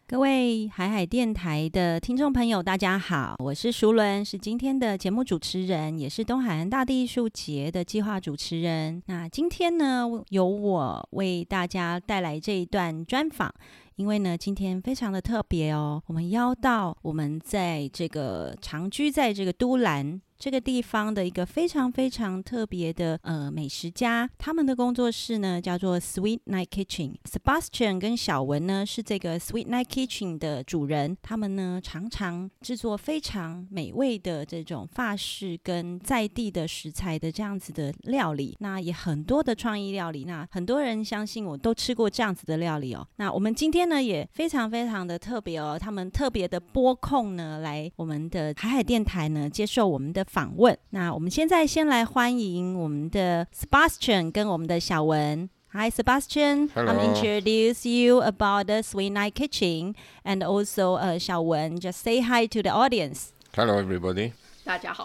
各位海海电台的听众朋友大家好，我是淑伦，是今天的节目主持人，也是东海岸大地艺术节的计划主持人。那今天呢，由我为大家带来这一段专访，因为呢今天非常的特别哦，我们邀到我们在这个长居在这个都兰这个地方的一个非常非常特别的美食家，他们的工作室呢叫做 Sweet Night Kitchen。Sebastian 跟小文呢是这个 Sweet Night Kitchen 的主人，他们呢常常制作非常美味的这种法式跟在地的食材的这样子的料理，那也很多的创意料理，那很多人相信我都吃过这样子的料理哦。那我们今天呢也非常非常的特别哦，他们特别的拨空呢来我们的海海电台呢接受我们的访问。那我们现在先来欢迎我们的 Sebastian 跟我们的小文。Hi Sebastian, Hello. I'm introduce you about the Sweet Night Kitchen, and also 小文 just say hi to the audience. Hello everybody. 大家好。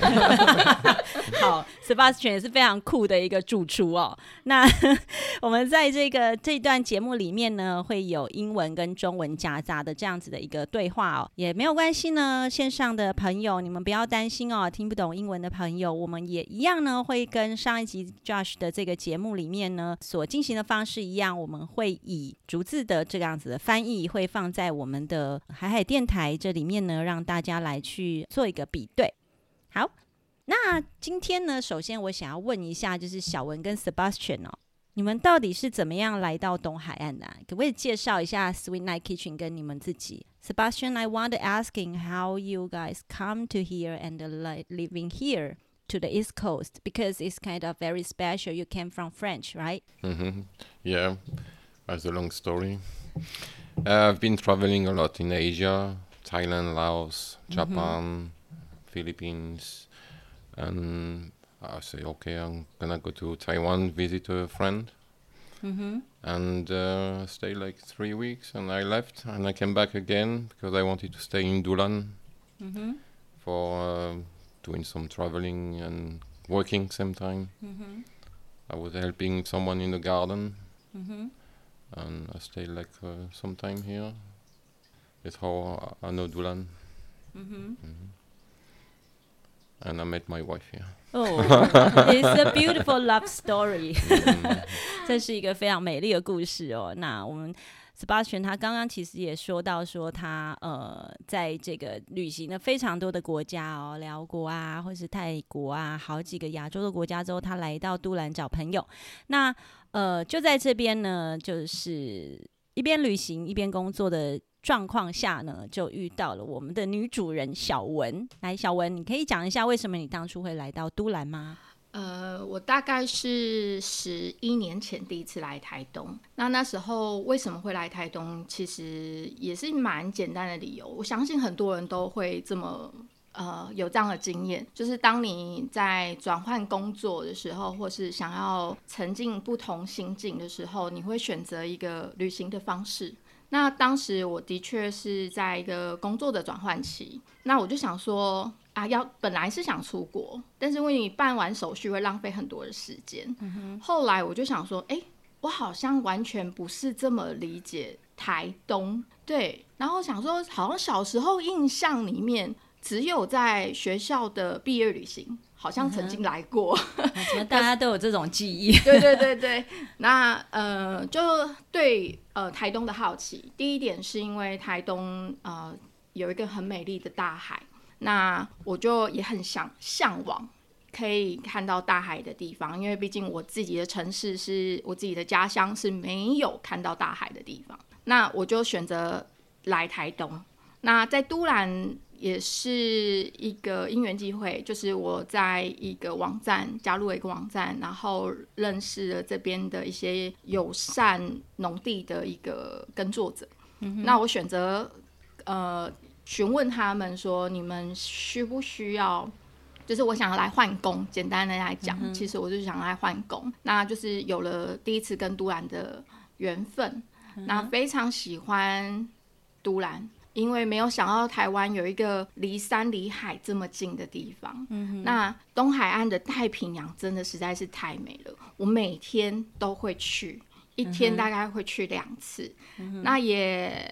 好 Sebastian 也是非常酷的一个主厨哦。那我们在这段节目里面呢，会有英文跟中文夹杂的这样子的一个对话哦，也没有关系呢，线上的朋友你们不要担心哦，听不懂英文的朋友，我们也一样呢，会跟上一集 Josh 的这个节目里面呢所进行的方式一样，我们会以逐字的这样子的翻译会放在我们的海海电台这里面呢，让大家来去做一个比对。好，那今天呢，首先我想要问一下，就是小文跟 Sebastian 哦，你们到底是怎么样来到东海岸的啊？可不可以介绍一下 Sweet Night Kitchen 跟你们自己 ？Sebastian, I want to asking how you guys come to here and living here to the East Coast because it's kind of very special. You came from French, right? Yeah, that's a long story. I've been traveling a lot in Asia, Thailand, Laos, Japan.Philippines, and I say, okay, I'm gonna go to Taiwan, visit a friend, and stay like 3 weeks, and I left, and I came back again because I wanted to stay in Dulan for doing some traveling and working same time. I was helping someone in the garden, and I stayed like some time here. That's how I know Dulan.And I met my wife here. Oh, it's a beautiful love story. 这是一个非常美丽的故事哦。那我们 Sebastian 他刚刚其实也说到说他在这个旅行了非常多的国家哦，辽国啊，或是泰国啊，好几个亚洲的国家之后，他来到都兰找朋友。那就在这边呢，就是一边旅行一边工作的状况下呢，就遇到了我们的女主人小文。来，小文，你可以讲一下为什么你当初会来到都兰吗？ 我大概是11年前第一次来台东。那时候为什么会来台东，其实也是蛮简单的理由。我相信很多人都会这么有这样的经验，就是当你在转换工作的时候，或是想要沉浸不同心境的时候，你会选择一个旅行的方式。那当时我的确是在一个工作的转换期，那我就想说本来是想出国，但是因为你办完手续会浪费很多的时间，后来我就想说我好像完全不是这么理解台东，对，然后想说好像小时候印象里面只有在学校的毕业旅行好像曾经来过， 怎么大家都有这种记忆？ 对对对对，那就对台东的好奇。第一点是因为台东有一个很美丽的大海，那我就也很向往可以看到大海的地方，因为毕竟我自己的城市是我自己的家乡，是没有看到大海的地方。那我就选择来台东。那在都兰也是一个因缘机会，就是我在一个网站加入了一个网站，然后认识了这边的一些友善农地的一个耕作者。那我选择询问他们说，你们需不需要，就是我想要来换工，简单的来讲，其实我就是想来换工。那就是有了第一次跟都兰的缘分，那非常喜欢都兰，因为没有想到台湾有一个离山离海这么近的地方。那东海岸的太平洋真的实在是太美了，我每天都会去，一天大概会去2次。那也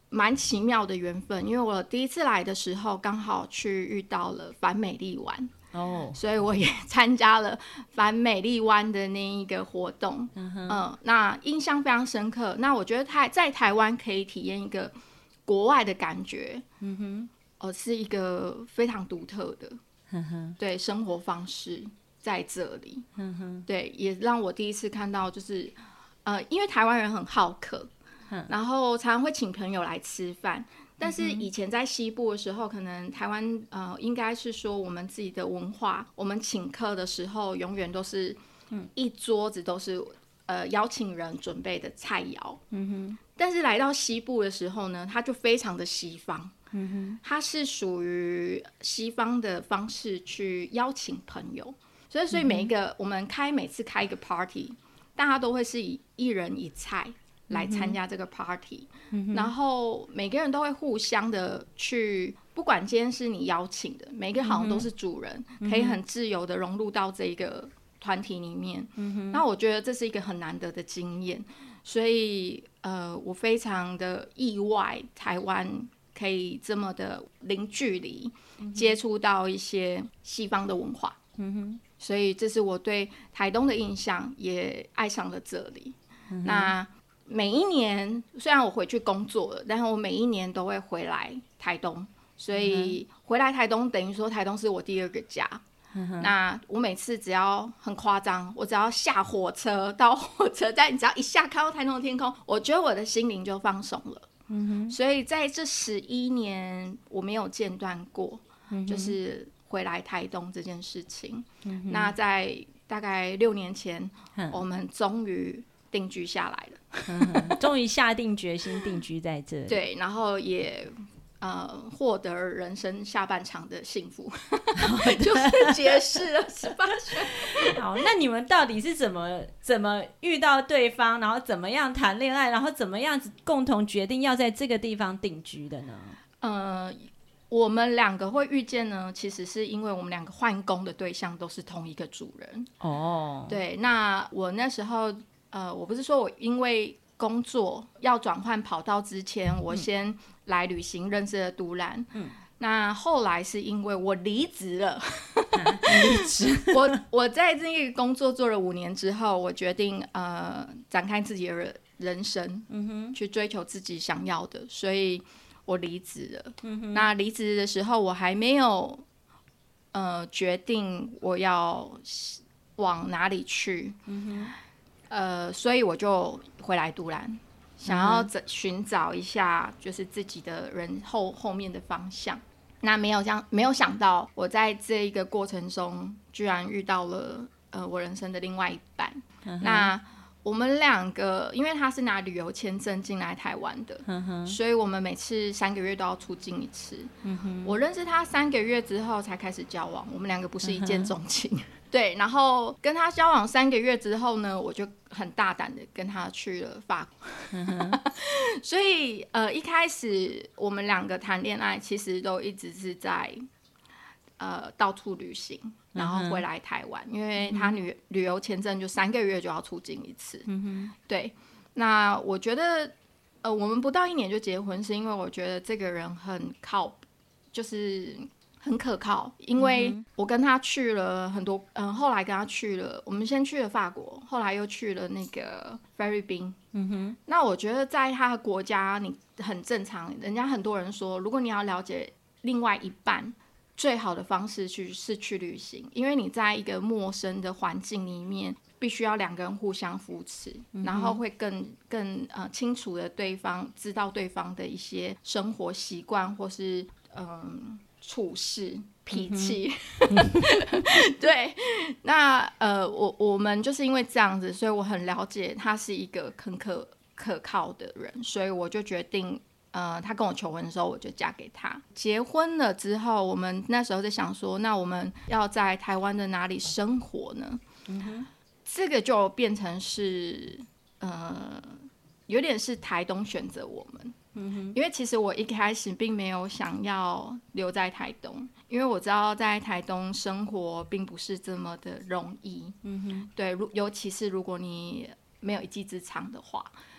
蛮奇妙的缘分，因为我第一次来的时候刚好去遇到了反美丽湾所以我也参加了反美丽湾的那一个活动那印象非常深刻。那我觉得在台湾可以体验一个国外的感觉是一个非常独特的对生活方式在这里对，也让我第一次看到就是因为台湾人很好客然后常常会请朋友来吃饭，但是以前在西部的时候可能台湾应该是说我们自己的文化，我们请客的时候永远都是一桌子都是邀请人准备的菜肴但是来到西部的时候呢，它就非常的西方它是属于西方的方式去邀请朋友，所以每一个我们每次开一个 party， 大家都会是以一人一菜来参加这个 party然后每个人都会互相的去，不管今天是你邀请的，每个人好像都是主人可以很自由的融入到这个团体里面那我觉得这是一个很难得的经验，所以我非常的意外台湾可以这么的零距离接触到一些西方的文化所以这是我对台东的印象，也爱上了这里那每一年虽然我回去工作了，但是我每一年都会回来台东，所以回来台东等于说台东是我第二个家那我每次只要很夸张，我只要下火车到火车站，你只要一下看到台东的天空，我觉得我的心灵就放松了所以在这11年我没有间断过就是回来台东这件事情那在大概6年前我们终于定居下来了终于下定决心定居在这里对，然后也获得人生下半场的幸福就是结识了18岁好，那你们到底是怎么遇到对方，然后怎么样谈恋爱，然后怎么样子共同决定要在这个地方定居的呢？ 我们2个会遇见呢，其实是因为我们2个换工的对象都是同一个主人对，那我那时候我不是说我因为工作要转换跑道之前我先来旅行认识了都兰那后来是因为我离职了离职我在这个工作做了5年之后，我决定展开自己的人生去追求自己想要的，所以我离职了那离职的时候我还没有决定我要往哪里去所以我就回来都兰想要寻找一下就是自己的人后面的方向那没有想到我在这一个过程中居然遇到了我人生的另外一半那我们2个因为他是拿旅游签证进来台湾的所以我们每次3个月都要出境一次我认识他3个月之后才开始交往，我们2个不是一见钟情对，然后跟他交往3个月之后呢，我就很大胆的跟他去了法国所以一开始我们2个谈恋爱其实都一直是在到处旅行然后回来台湾因为他旅游签证就3个月就要出境一次对，那我觉得我们不到1年就结婚，是因为我觉得这个人很就是很可靠，因为我跟他去了很多后来跟他去了，我们先去了法国，后来又去了那个菲律宾那我觉得在他的国家你很正常，人家很多人说如果你要了解另外一半最好的方式是去旅行，因为你在一个陌生的环境里面必须要2个人互相扶持然后会更清楚的知道对方的一些生活习惯或是处事脾气对，那我们就是因为这样子，所以我很了解他是一个很可靠的人，所以我就决定他跟我求婚的时候我就嫁给他。结婚了之后我们那时候在想说那我们要在台湾的哪里生活呢这个就变成是有点是台东选择我们因为其实我一开始并没有想要留在台东，因为我知道在台东生活并不是这么的容易对，尤其是如果你没有一技之长的话，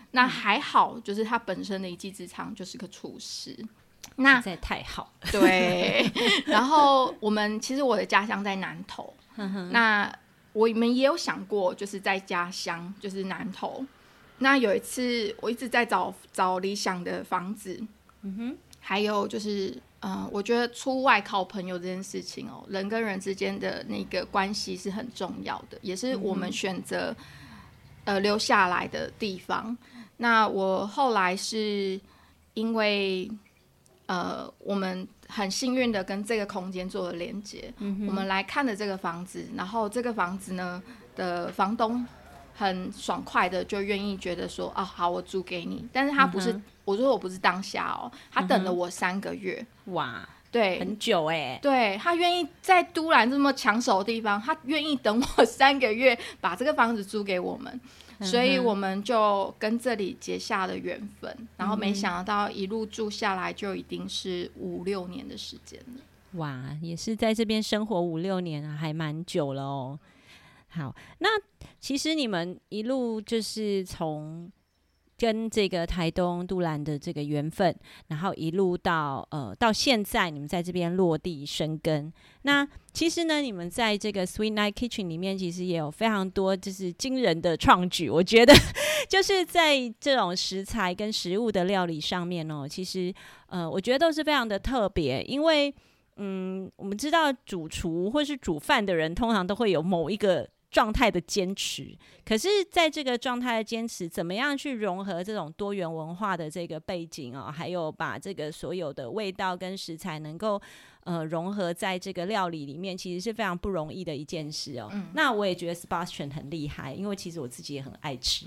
那还好，就是他本身的一技之长就是个厨师。那实在太好了。 对，然后其实我的家乡在南投，那我们也有想过，就是在家乡，就是南投。那有一次，我一直在找理想的房子，还有就是我觉得出外靠朋友这件事情哦，人跟人之间的那个关系是很重要的，也是我们选择留下来的地方。那我后来是因为我们很幸运的跟这个空间做了连接，我们来看了这个房子，然后这个房子呢的房东很爽快的就愿意觉得说好，我租给你，但是他不是，我说我不是当下哦，他等了我3个月， 哇， 对， 很久欸。 对，他愿意在都兰这么抢手的地方，他愿意等我3个月把这个房子租给我们，所以我们就跟这里结下了缘分，然后没想到一路住下来就已经是5-6年的时间了。 哇，也是在这边生活5-6年啊，还蛮久了哦。好，那其实你们一路就是从跟这个台东都兰的这个缘分，然后一路到现在你们在这边落地生根。那其实呢，你们在这个 Sweet Night Kitchen 里面其实也有非常多就是惊人的创举，我觉得就是在这种食材跟食物的料理上面哦，其实我觉得都是非常的特别，因为我们知道主厨或是煮饭的人通常都会有某一个状态的坚持，可是在这个状态的坚持怎么样去融合这种多元文化的这个背景哦，还有把这个所有的味道跟食材能够融合在这个料理里面，其实是非常不容易的一件事哦。那我也觉得 Sebastian 很厉害，因为其实我自己也很爱吃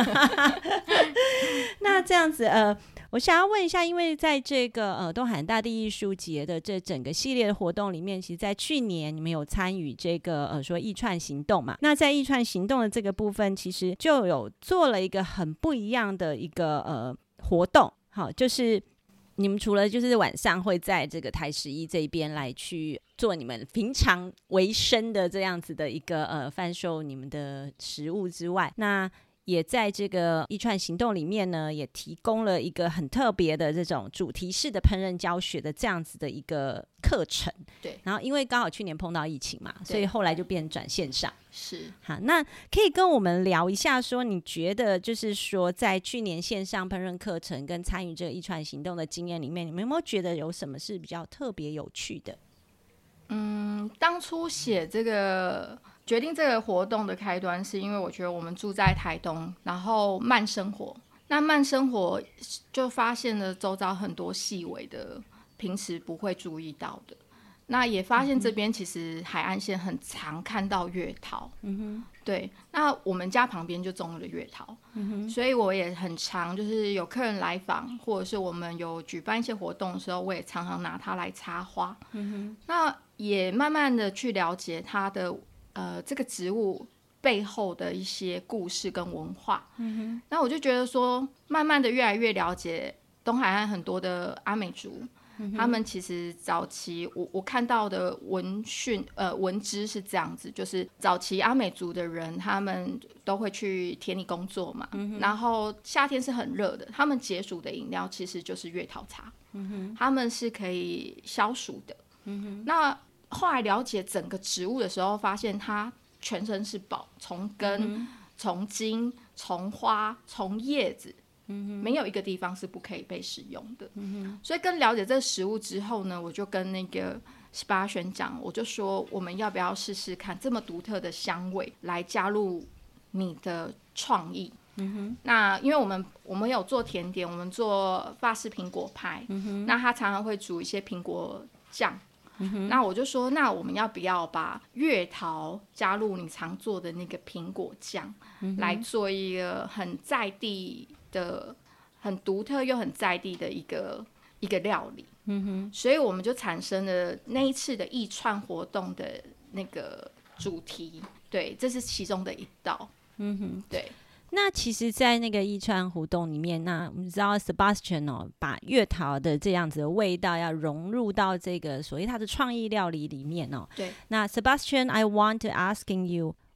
那这样子我想要问一下，因为在这个东海大地艺术节的这整个系列的活动里面，其实在去年你们有参与这个说艺串行动嘛，那在艺串行动的这个部分其实就有做了一个很不一样的一个活动，好，就是你们除了就是晚上会在这个台11这边来去做你们平常为生的这样子的一个贩售你们的食物之外，那也在这个一串行动里面呢，也提供了一个很特别的这种主题式的烹饪教学的这样子的一个课程。 对， 然后因为刚好去年碰到疫情嘛，所以后来就变转线上。 是， 好，那可以跟我们聊一下说，你觉得就是说在去年线上烹饪课程跟参与这个一串行动的经验里面，你们有没有觉得有什么是比较特别有趣的？ 当初写这个决定这个活动的开端，是因为我觉得我们住在台东，然后慢生活，那慢生活就发现了周遭很多细微的平时不会注意到的，那也发现这边其实海岸线很常看到月桃，对，那我们家旁边就种了月桃，所以我也很常就是有客人来访，或者是我们有举办一些活动的时候，我也常常拿它来插花，那也慢慢的去了解它的这个植物背后的一些故事跟文化，那我就觉得说，慢慢的越来越了解东海岸很多的阿美族，他们其实早期我看到的文资是这样子，就是早期阿美族的人，他们都会去田里工作嘛，然后夏天是很热的，他们解暑的饮料其实就是月桃茶，他们是可以消暑的，那后来了解整个植物的时候，发现它全身是宝，从根、从茎、从花、从叶子，没有一个地方是不可以被使用的。所以更了解这个食物之后呢，我就跟那个Sebastian讲，我就说我们要不要试试看这么独特的香味来加入你的创意。那因为我们有做甜点，我们做法式苹果派，那他常常会煮一些苹果酱。那我就说，那我们要不要把月桃加入你常做的那个苹果酱，来做一个很在地的、很独特又很在地的一个料理。所以我们就产生了那一次的艺串活动的那个主题。对，这是其中的一道。对。 那其实在那个艺串活动里面，那我们知道 Sebastian 把月桃的这样子的味道要融入到这个所谓他的创意料理里面对。那 Sebastian, I want to asking you,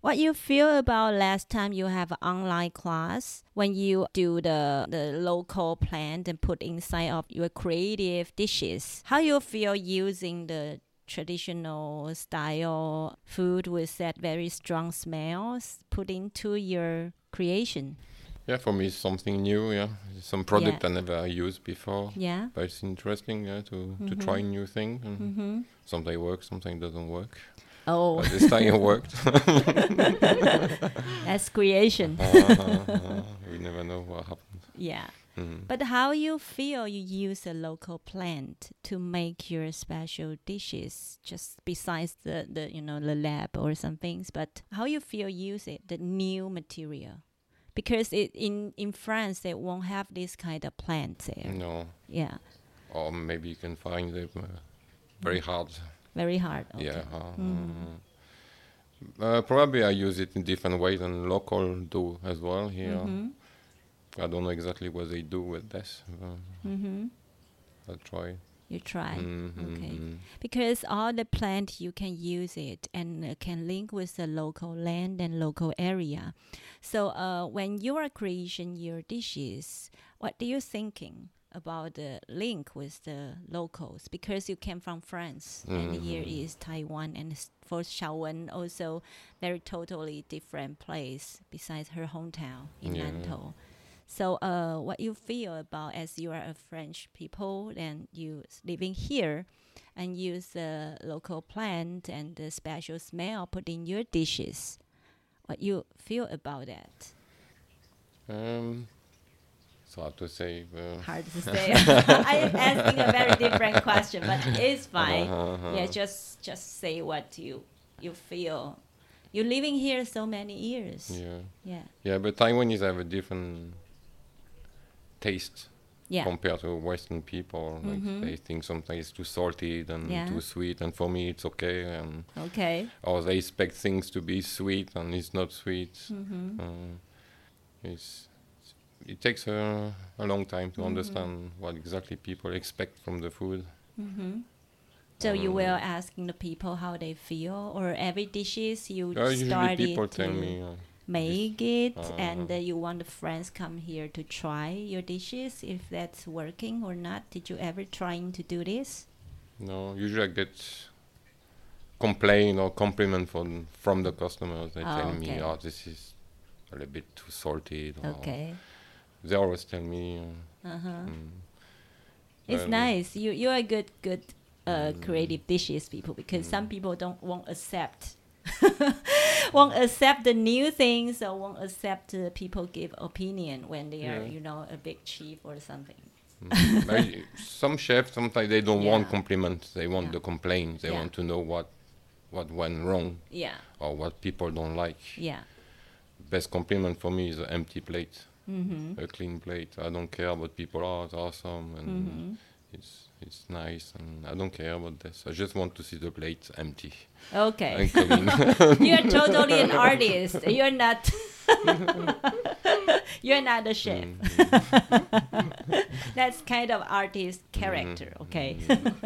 what you feel about last time you have an online class when you do the local plant and put inside of your creative dishes? How you feel using the traditional style food with that very strong smells put into your creation? Yeah, for me it's something new, yeah. Some product I never used before. Yeah. But it's interesting, yeah, to try new things. And sometimes it works, sometimes it doesn't work. Oh. But this time it worked. That's creation. We never know what happens. Yeah. But how you feel you use a local plant to make your special dishes, just besides the the lab or some things, but how you feel use it, the new material? Because in France they won't have this kind of plants there. No. Yeah. Or maybe you can find them very hard. Very hard. Okay. Yeah. Probably I use it in different ways than local do as well here. I don't know exactly what they do with this. I'll try. You try. Okay. Because all the plant you can use it and can link with the local land and local area. So when you are creating your dishes, what do you thinking about the link with the locals? Because you came from France and here is Taiwan, and for Xiaowen also very totally different place besides her hometown in Nantou. So what you feel about as you are a French people and you living here and use the local plant and the special smell put in your dishes, what you feel about that? It's hard to say. Hard to say. I am asking a very different question, but it's fine. Yeah, just say what you feel. You're living here so many years. Yeah, but Taiwanese have a different taste compared to Western people. Like they think sometimes it's too salty and too sweet, and for me it's okay. Or they expect things to be sweet and it's not sweet. It takes a long time to understand what exactly people expect from the food. So you were asking the people how they feel, or every dishes you usually started people to tell me make it, and you want the friends come here to try your dishes if that's working or not. Did you ever trying to do this? No, usually I get complaint or compliment from the customers. They tell me, "Oh, this is a little bit too salty." They always tell me. It's nice. You are good creative dishes people, because some people won't accept the new things, or won't accept people give opinion when they are a big chef or something. Some chefs sometimes they don't want compliments. They want the complaints. They want to know what went wrong. Or what people don't like. Best compliment for me is an empty plate. A clean plate. I don't care about people. Oh, it's awesome and it's nice, and I don't care about this. I just want to see the plate empty. Okay. And clean. You're totally an artist. You're not. You're not a chef. That's kind of artist character. Okay.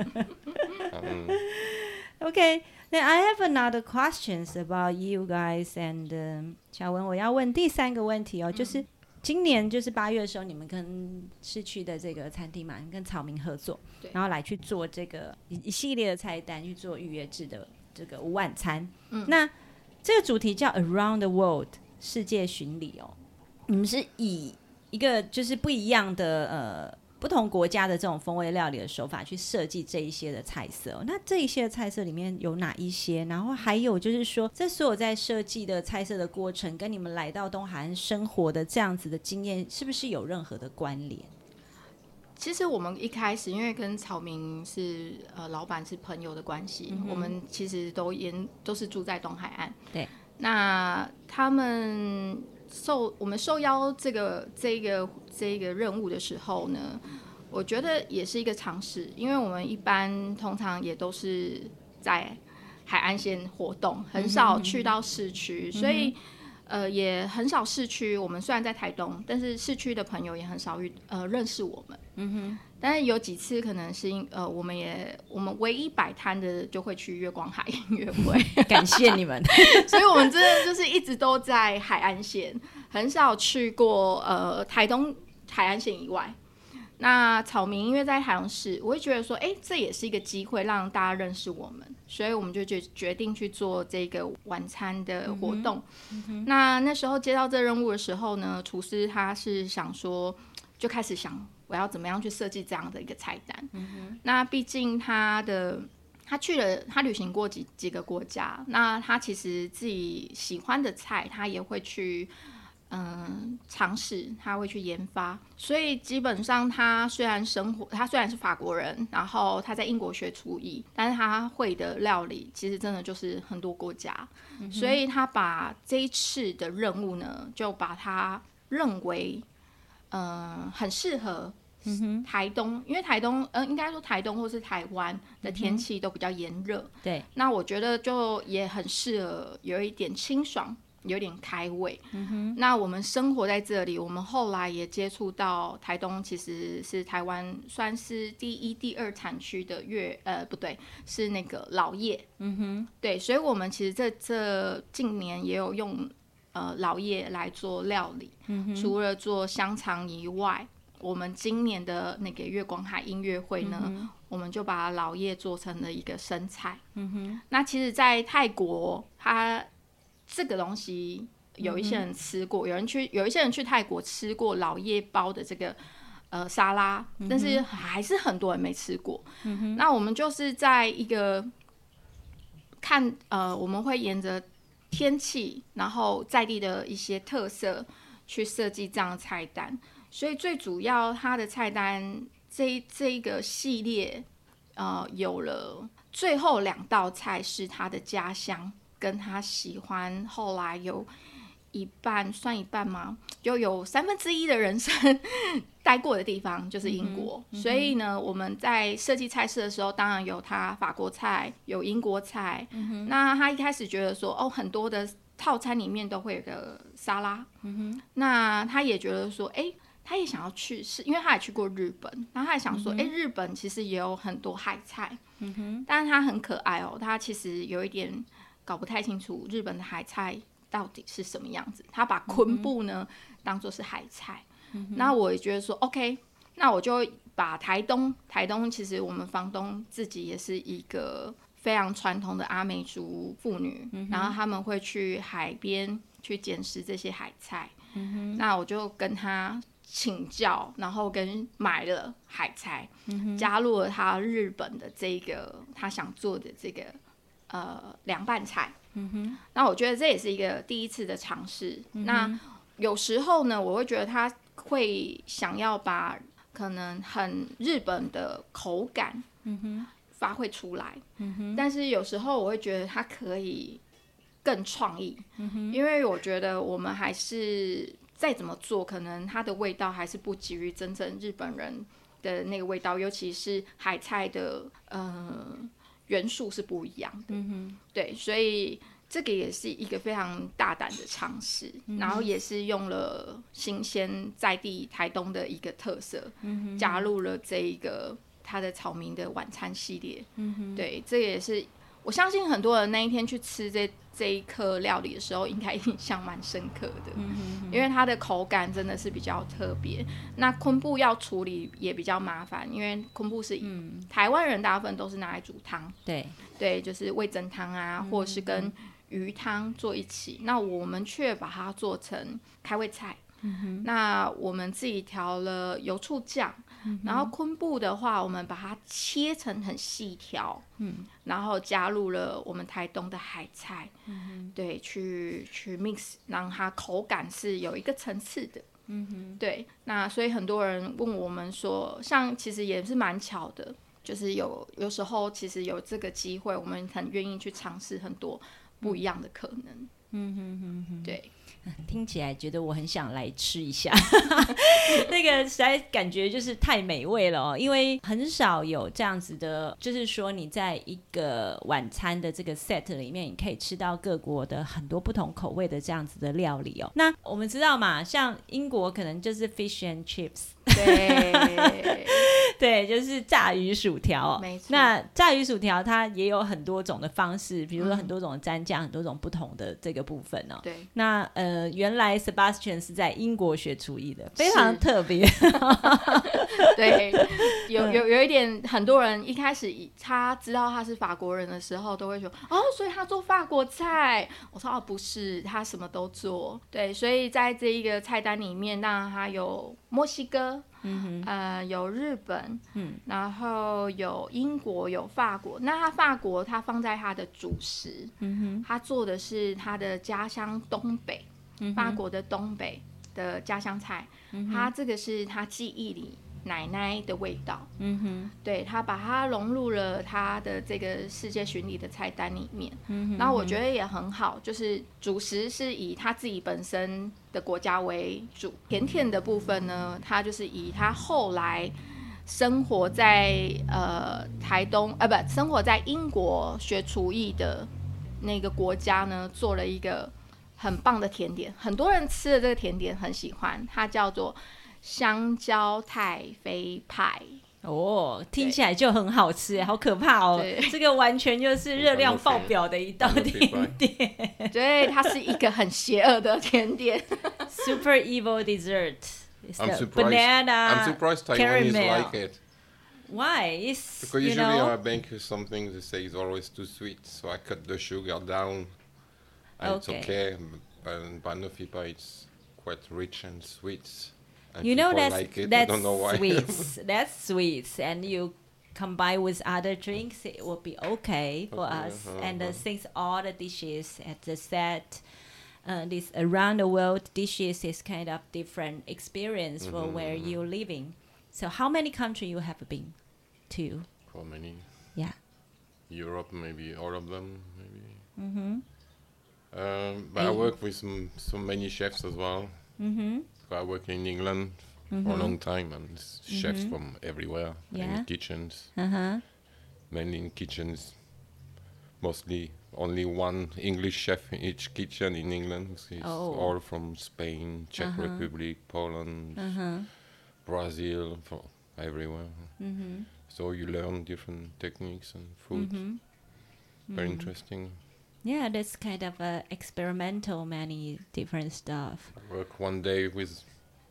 Okay. Then I have another questions about you guys and 小文，我要问第三个问题哦，就是今年就是8月的时候，你们跟市区的这个餐厅嘛，跟草民合作，然后来去做这个一系列的菜单，去做预约制的这个午晚餐。那这个主题叫 Around the World 世界巡礼哦，你们是以一个就是不一样的不同国家的这种风味料理的手法去设计这一些的菜色哦。那这一些的菜色里面有哪一些？然后还有就是说，这所有在设计的菜色的过程，跟你们来到东海岸生活的这样子的经验，是不是有任何的关联？ 其实我们一开始因为跟曹明是老板是朋友的关系，我们其实都是住在东海岸。 对， 那他们我们受邀这个任务的时候呢，我觉得也是一个尝试，因为我们一般通常也都是在海岸线活动，很少去到市区，所以也很少市区。我们虽然在台东，但是市区的朋友也很少认识我们。 但是有几次可能是我们唯一摆摊的就会去月光海音乐会， 感谢你们。 所以我们真的就是一直都在海岸线，很少去过台东海岸线以外。那草民因为在台中市，我会觉得说，这也是一个机会让大家认识我们，所以我们就决定去做这个晚餐的活动。那时候接到这任务的时候呢，厨师他是想说，就开始想我要怎么样去设计这样的一个菜单。那毕竟他旅行过几个国家，那他其实自己喜欢的菜，他也会去尝试，他会去研发。所以基本上他虽然是法国人，然后他在英国学厨艺，但是他会的料理其实真的就是很多国家。所以他把这一次的任务呢，就把他认为很适合台东，因为台东应该说台东或是台湾的天气都比较炎热， 对， 那我觉得就也很适合有一点清爽，有点开胃。那我们生活在这里，我们后来也接触到台东，其实是台湾算是第一、第二产区的不对，是那个老叶。对，所以我们其实这近年也有用老叶来做料理。除了做香肠以外，我们今年的那个月光海音乐会呢，我们就把老叶做成了一个生菜。那其实在泰国它这个东西有一些人吃过，有一些人去泰国吃过老叶包的这个沙拉，但是还是很多人没吃过。那我们就是在一个我们会沿着天气，然后在地的一些特色去设计这样的菜单。所以最主要它的菜单这一个系列有了最后2道菜是他的家乡跟他喜欢，后来有算一半吗？就有1/3的人生待过的地方就是英国。所以呢，我们在设计菜式的时候，当然有他法国菜，有英国菜。那他一开始觉得说，很多的套餐里面都会有个沙拉。那他也觉得说，他也想要去试，因为他也去过日本，然后他也想说，日本其实也有很多海菜。但是他很可爱他其实有一点搞不太清楚日本的海菜到底是什么样子，他把昆布呢当作是海菜。那我也觉得说 OK， 那我就把台东其实我们房东自己也是一个非常传统的阿美族妇女，然后他们会去海边去捡拾这些海菜。那我就跟他请教，然后买了海菜，加入了他日本的这个他想做的这个凉拌菜。那我觉得这也是一个第一次的尝试。那有时候呢，我会觉得他会想要把可能很日本的口感发挥出来，但是有时候我会觉得他可以更创意。因为我觉得我们还是再怎么做，可能它的味道还是不及于真正日本人的那个味道，尤其是海菜的元素是不一样的。对，所以这个也是一个非常大胆的尝试，然后也是用了新鲜在地台东的一个特色，加入了这一个它的草民的晚餐系列。对，这也是我相信很多人那一天去吃这一颗料理的时候，应该印象蛮深刻的。因为它的口感真的是比较特别。那昆布要处理也比较麻烦，因为昆布是台湾人大部分都是拿来煮汤，对，就是味噌汤啊，或者是跟鱼汤做一起。那我们却把它做成开胃菜。那我们自己调了油醋酱，然后昆布的话，我们把它切成很细条，然后加入了我们台东的海菜，对，去 mix， 让它口感是有一个层次的。对，那所以很多人问我们说，像其实也是蛮巧的，就是有时候其实有这个机会，我们很愿意去尝试很多不一样的可能。对。 听起来觉得我很想来吃一下那个实在感觉就是太美味了因为很少有这样子的，就是说你在一个晚餐的这个 set 里面，你可以吃到各国的很多不同口味的这样子的料理那我们知道嘛，像英国可能就是 fish and chips 对对，就是炸鱼薯条没错。 那炸鱼薯条它也有很多种的方式，比如说很多种的蘸酱，很多种不同的这个部分对， 那原来 Sebastian 是在英国学厨艺的，非常特别对，有一点，很多人一开始他知道他是法国人的时候，都会说所以他做法国菜。我说不是，他什么都做。对，所以在这一个菜单里面，当然他有墨西哥，有日本，然后有英国，有法国。那他法国他放在他的主食，他做的是他的家乡东北，法国的东北的家乡菜，他这个是他记忆里奶奶的味道，对，他把它融入了他的这个世界巡礼的菜单里面，然后我觉得也很好，就是主食是以他自己本身的国家为主，甜甜的部分呢，他就是以他后来生活在台东生活在英国学厨艺的那个国家呢，做了一个很棒的甜点，很多人吃的这个甜点很喜欢，它叫做香蕉太妃派。 听起来就很好吃，好可怕这个完全就是热量爆表的一道甜点对，它是一个很邪恶的甜点 Super evil dessert. I'm surprised Taiwanese caramel. like it. Why? Because usually I make something they say is always too sweet, so I cut the sugar down and it's okay. But Banofipa it's quite rich and sweet. And you know that's like it. I don't know why. sweets. That's sweets, and you combine with other drinks, it will be okay for us. And since all the dishes at the set, this around the world dishes is kind of different experience for where you're living. So how many countries you have been to? How many? Yeah. Europe, maybe all of them, maybe. But I work with so many chefs as well. I work in England for a long time, and chefs from everywhere in kitchens. Mainly in kitchens, mostly only one English chef in each kitchen in England. It's all from Spain, Czech Republic, Poland, Brazil, from everywhere. So you learn different techniques and food. Very interesting. Yeah, that's kind of experimental, many different stuff. I work one day with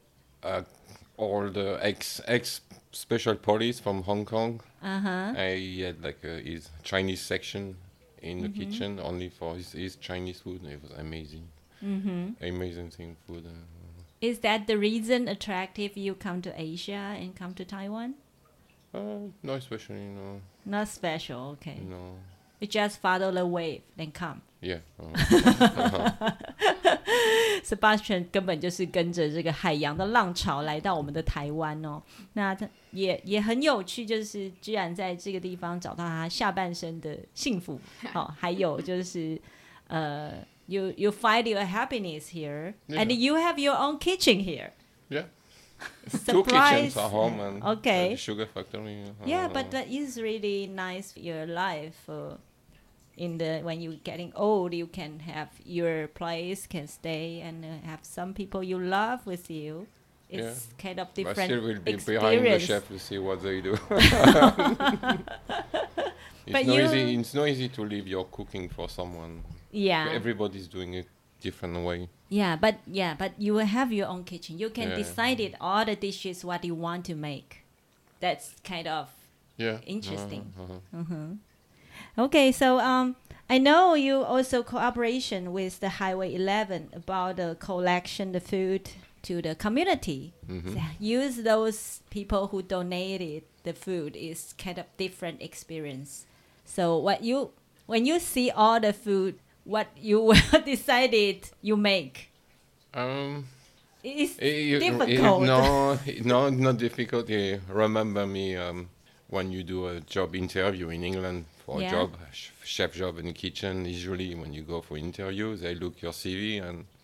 all the ex special police from Hong Kong. I had like his Chinese section in the kitchen only for his Chinese food. It was amazing. Amazing thing food. Is that the reason attractive you come to Asia and come to Taiwan? No, especially, no. Not special, okay. No. You just follow the wave, then come. Yeah. Sebastian 根本就是跟着这个海洋的浪潮来到我们的台湾那他也很有趣，就是居然在这个地方找到他下半生的幸福还有就是you find your happiness here, and you have your own kitchen here. Yeah. Surprise. 2 kitchens at home and okay. a sugar factory. Yeah, but that is really nice for your life. When you're getting old, you can have your place, can stay, and have some people you love with you. It's kind of different I still will be experience. behind the chef to see what they do. It's not easy to leave your cooking for someone. Yeah. Everybody's doing it different way. Yeah, but you will have your own kitchen. You can decide it, all the dishes what you want to make. That's kind of interesting. Okay, so I know you also cooperation with the Highway 11 about the collection the food to the community. So use those people who donated the food is kind of different experience. So when you see all the food, what you decided you make? It's difficult. No, not difficult. Remember me when you do a job interview in England for a job, chef job in the kitchen. Usually when you go for interview, they look your CV and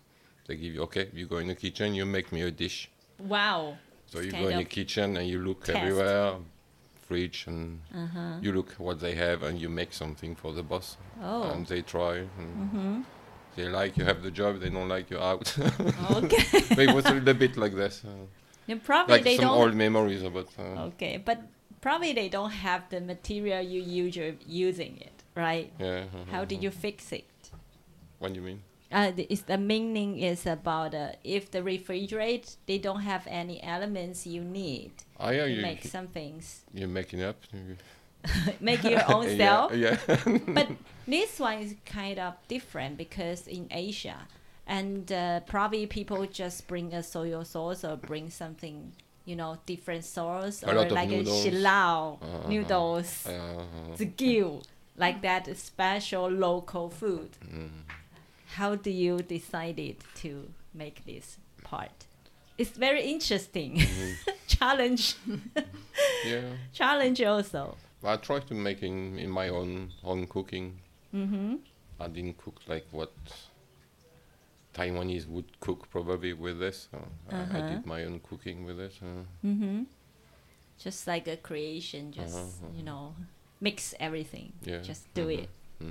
They give you, okay, you go in the kitchen, you make me a dish. Wow. So you go in the kitchen and you look everywhere, fridge, and you look what they have, and you make something for the boss. Oh. And they try. And they like you have the job, they don't like you out. Okay. But it was a little bit like this. And probably Like they some don't. old memories about. Okay, but probably they don't have the material you usually using it, right? Yeah. How did you fix it? What do you mean? The meaning is about if the refrigerator they don't have any elements you need Oh yeah, to make some things. You're making up. Make your own self. Yeah. But this one is kind of different because in Asia, and probably people just bring a soy sauce or bring something, different sauce, A or lot of like noodles. a shilao noodles, Uh, zgil, like that special local food. How do you decided to make this part? It's very interesting. Challenge. yeah. Challenge also. I try to make in my own cooking. I didn't cook like what Taiwanese would cook probably with this. I did my own cooking with it. Just like a creation, just mix everything. Yeah. Just do it.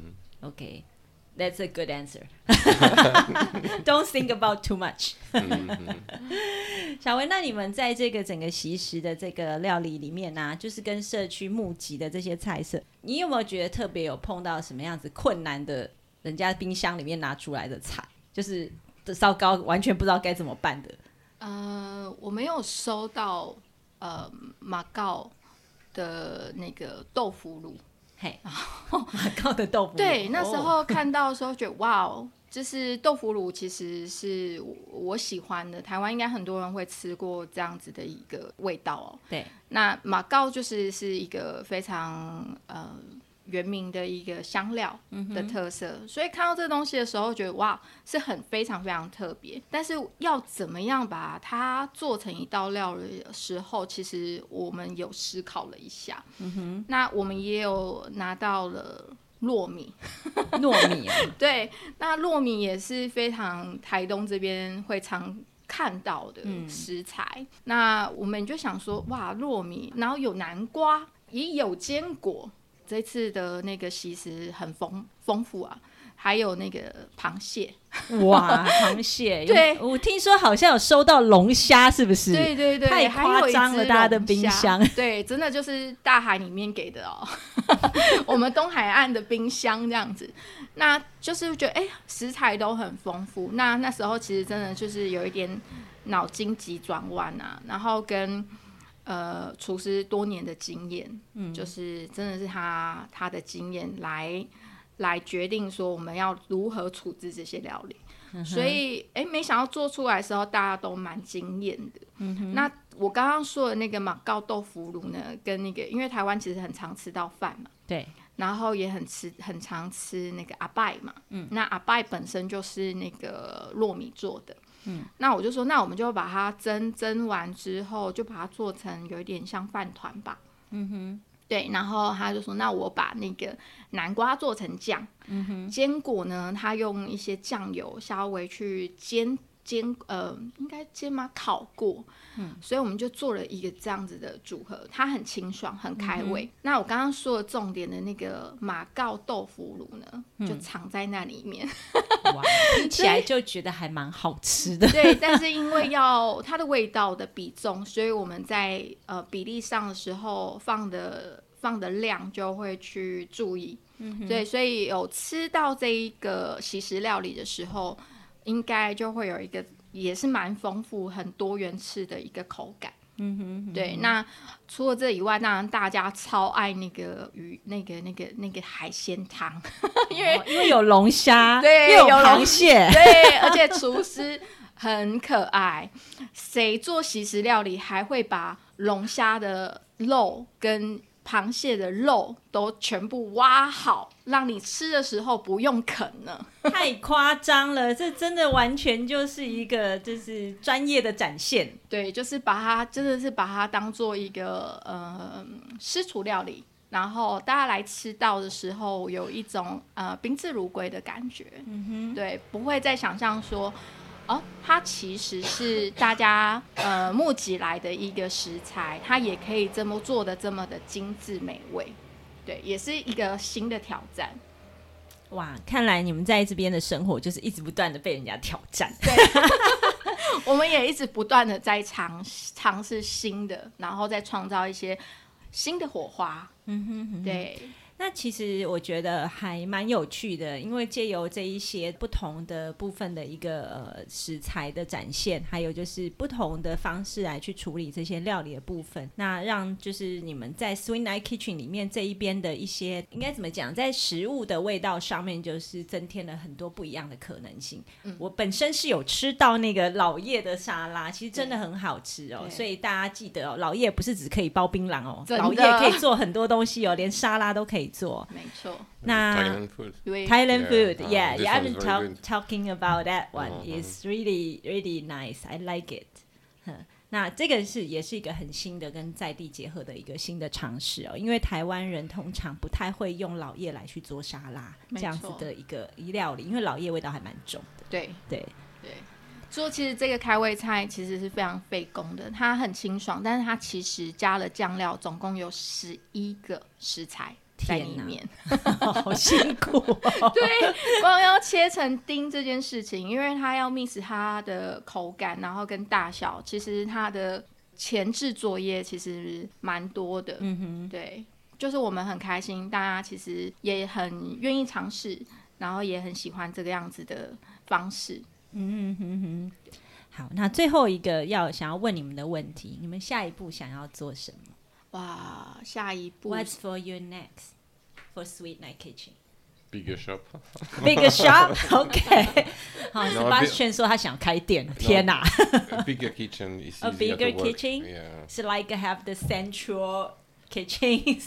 Okay. That's a good answer. 嗯 Don't think about too much. 小文，那你们在这个整个习食的这个料理里面啊，就是跟社区募集的这些菜色，你有没有觉得特别有碰到什么样子困难的，人家冰箱里面拿出来的菜，就是糟糕，完全不知道该怎么办的？ 我没有收到马告的那个豆腐乳。 嘿，马告的豆腐乳。 对，那时候看到的时候觉得哇哦，就是豆腐乳其实是我喜欢的，台湾应该很多人会吃过这样子的一个味道哦。 对， 那马告是一个非常原名的一个香料的特色，所以看到这个东西的时候觉得哇，是非常非常特别。但是要怎么样把它做成一道料理的时候，其实我们有思考了一下。那我们也有拿到了糯米。 糯米啊。 对，那糯米也是非常台东这边会常看到的食材。那我们就想说哇，糯米，然后有南瓜，也有坚果。这次的那个习食很丰富啊，还有那个螃蟹。 哇，螃蟹！ 对， 我听说好像有收到龙虾，是不是？ 对对对， 太夸张了，大家的冰箱。 对，真的就是大海里面给的哦，我们东海岸的冰箱这样子。那就是觉得食材都很丰富。那时候其实真的就是有一点脑筋急转弯啊，然后跟厨师多年的经验，就是真的是他的经验来决定说我们要如何处置这些料理。所以没想到做出来的时候大家都蛮惊艳的。那我刚刚说的那个马告豆腐乳呢，跟那个因为台湾其实很常吃到饭嘛， 对， 然后也很常吃那个阿拜嘛，那阿拜本身就是那个糯米做的。那我就说，那我们就把它蒸完之后，就把它做成有一点像饭团吧。对，然后他就说，那我把那个南瓜做成酱，坚果呢，他用一些酱油稍微去煎，应该煎吗？烤过，所以我们就做了一个这样子的组合，它很清爽，很开胃。那我刚刚说的重点的那个马告豆腐乳呢，就藏在那里面。 哇，听起来就觉得还蛮好吃的。 对，但是因为要它的味道的比重，所以我们在比例上的时候放的量就会去注意。对，所以有吃到这一个习食料理的时候，应该就会有一个也是蛮丰富、很多元式的一个口感。对。那除了这以外，当然大家超爱那个鱼，那个海鲜汤，因为有龙虾， 对， 又有螃蟹， 对，而且厨师很可爱，谁做习食料理还会把龙虾的肉跟螃蟹的肉都全部挖好，让你吃的时候不用啃呢？ 太夸张了，这真的完全就是一个就是专业的展现。 对，就是真的是把它当做一个私厨料理，然后大家来吃到的时候有一种宾至如归的感觉。对，不会再想象说它其实是大家募集来的一个食材，它也可以这么做的这么的精致美味，对，也是一个新的挑战。 哇，看来你们在这边的生活就是一直不断的被人家挑战。 对，我们也一直不断的在尝试新的，然后再创造一些新的火花。对。 那其实我觉得还蛮有趣的，因为借由这一些不同的部分的一个食材的展现，还有就是不同的方式来去处理这些料理的部分，那让就是你们在 Sweet Night Kitchen 里面这一边的一些应该怎么讲，在食物的味道上面就是增添了很多不一样的可能性。我本身是有吃到那个老叶的沙拉，其实真的很好吃哦，所以大家记得哦，老叶不是只可以包槟榔哦，老叶可以做很多东西哦，连沙拉都可以做。 没错。 那 Thailand food. Thailand food, yeah, this I've one's been very good. talking about that one. It's really, really nice. I like it. 那这个也是一个很新的跟在地结合的一个新的尝试哦，因为台湾人通常不太会用老叶来去做沙拉这样子的一个料理，因为老叶味道还蛮重的。 对对对。说其实这个开胃菜其实是非常费工的，它很清爽，但是它其实加了酱料，总共有11个食材在里面。 好辛苦哦。 对，光要切成丁这件事情，因为它要 mix 它的口感，然后跟大小，其实它的前置作业其实蛮多的。对，就是我们很开心，大家其实也很愿意尝试，然后也很喜欢这个样子的方式。 好，那最后一个想要问你们的问题，你们下一步想要做什么？ 哇，下一步 What's for you next for Sweet Night Kitchen? Bigger shop. Bigger shop? OK. 好 Sebastian 说他想开店，天哪。 A bigger kitchen is A easier bigger to work. kitchen? Yeah. So like have the central kitchen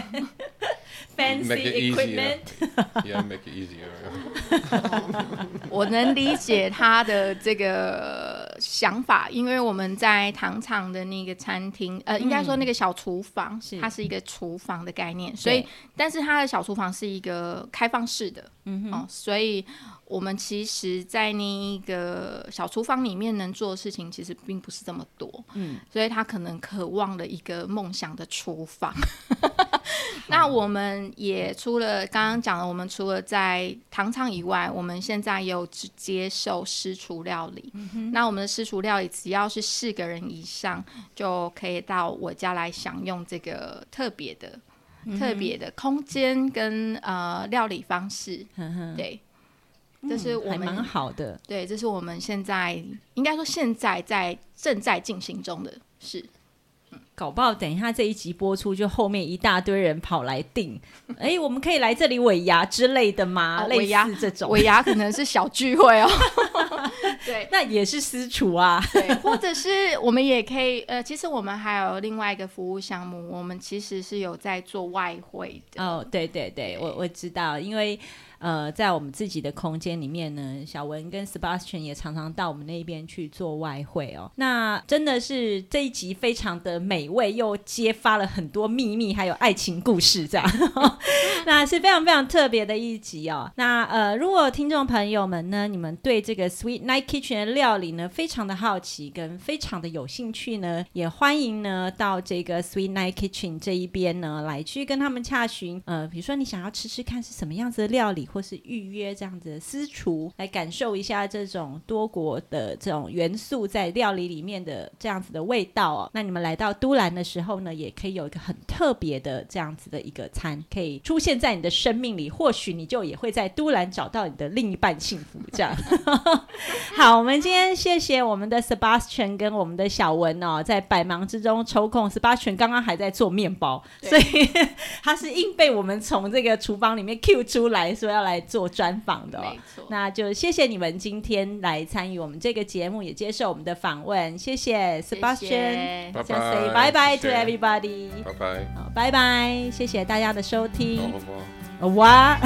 fancy Make it equipment. Yeah, make it easier. 我能理解他的这个想法，因为我们在糖厂的那个餐厅，应该说那个小厨房，它是一个厨房的概念，所以，但是它的小厨房是一个开放式的，所以我们其实，在那一个小厨房里面能做的事情，其实并不是这么多，所以他可能渴望了一个梦想的厨房。那我们也除了刚刚讲的，我们除了在糖厂以外，我们现在也有接受私厨料理。那我们的私厨料理只要是4个人以上，就可以到我家来享用这个特别的空间跟料理方式。对，这是我们还蛮好的。 对，这是我们现在应该说现在正在进行中的事。 搞不好等一下这一集播出，就后面一大堆人跑来订，我们可以来这里尾牙之类的吗？类似这种尾牙可能是小聚会哦。对， 那也是私厨啊。 对，或者是我们也可以其实我们还有另外一个服务项目，我们其实是有在做外汇的。 哦，对对对，我知道，因为在我们自己的空间里面呢，小文跟 Sebastian 也常常到我们那边去做外汇哦。那真的是这一集非常的美味，又揭发了很多秘密，还有爱情故事这样。那是非常非常特别的一集哦。那如果听众朋友们呢，你们对这个 Sweet Night Kitchen 的料理呢非常的好奇跟非常的有兴趣呢，也欢迎呢到这个 Sweet Night Kitchen 这一边呢来去跟他们洽询。比如说你想要吃吃看是什么样子的料理，或是预约这样子的私厨，来感受一下这种多国的这种元素在料理里面的这样子的味道哦。那你们来到都兰的时候呢，也可以有一个很特别的这样子的一个餐，可以出现在你的生命里，或许你就也会在都兰找到你的另一半幸福这样。好，我们今天谢谢我们的 Sebastian 跟我们的小文哦，在百忙之中抽空。Sebastian 刚刚还在做面包，所以他是硬被我们从这个厨房里面 Q 出来说要来做专访的哦。 没错， 那就谢谢你们今天来参与我们这个节目，也接受我们的访问，谢谢 Sebastian。 拜拜 Say bye bye to everybody。 拜拜。 好，拜拜，谢谢大家的收听。 哇，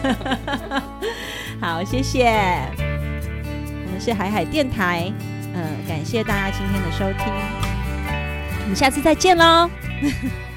好，谢谢。我们是海海电台，感谢大家今天的收听，我们下次再见喽。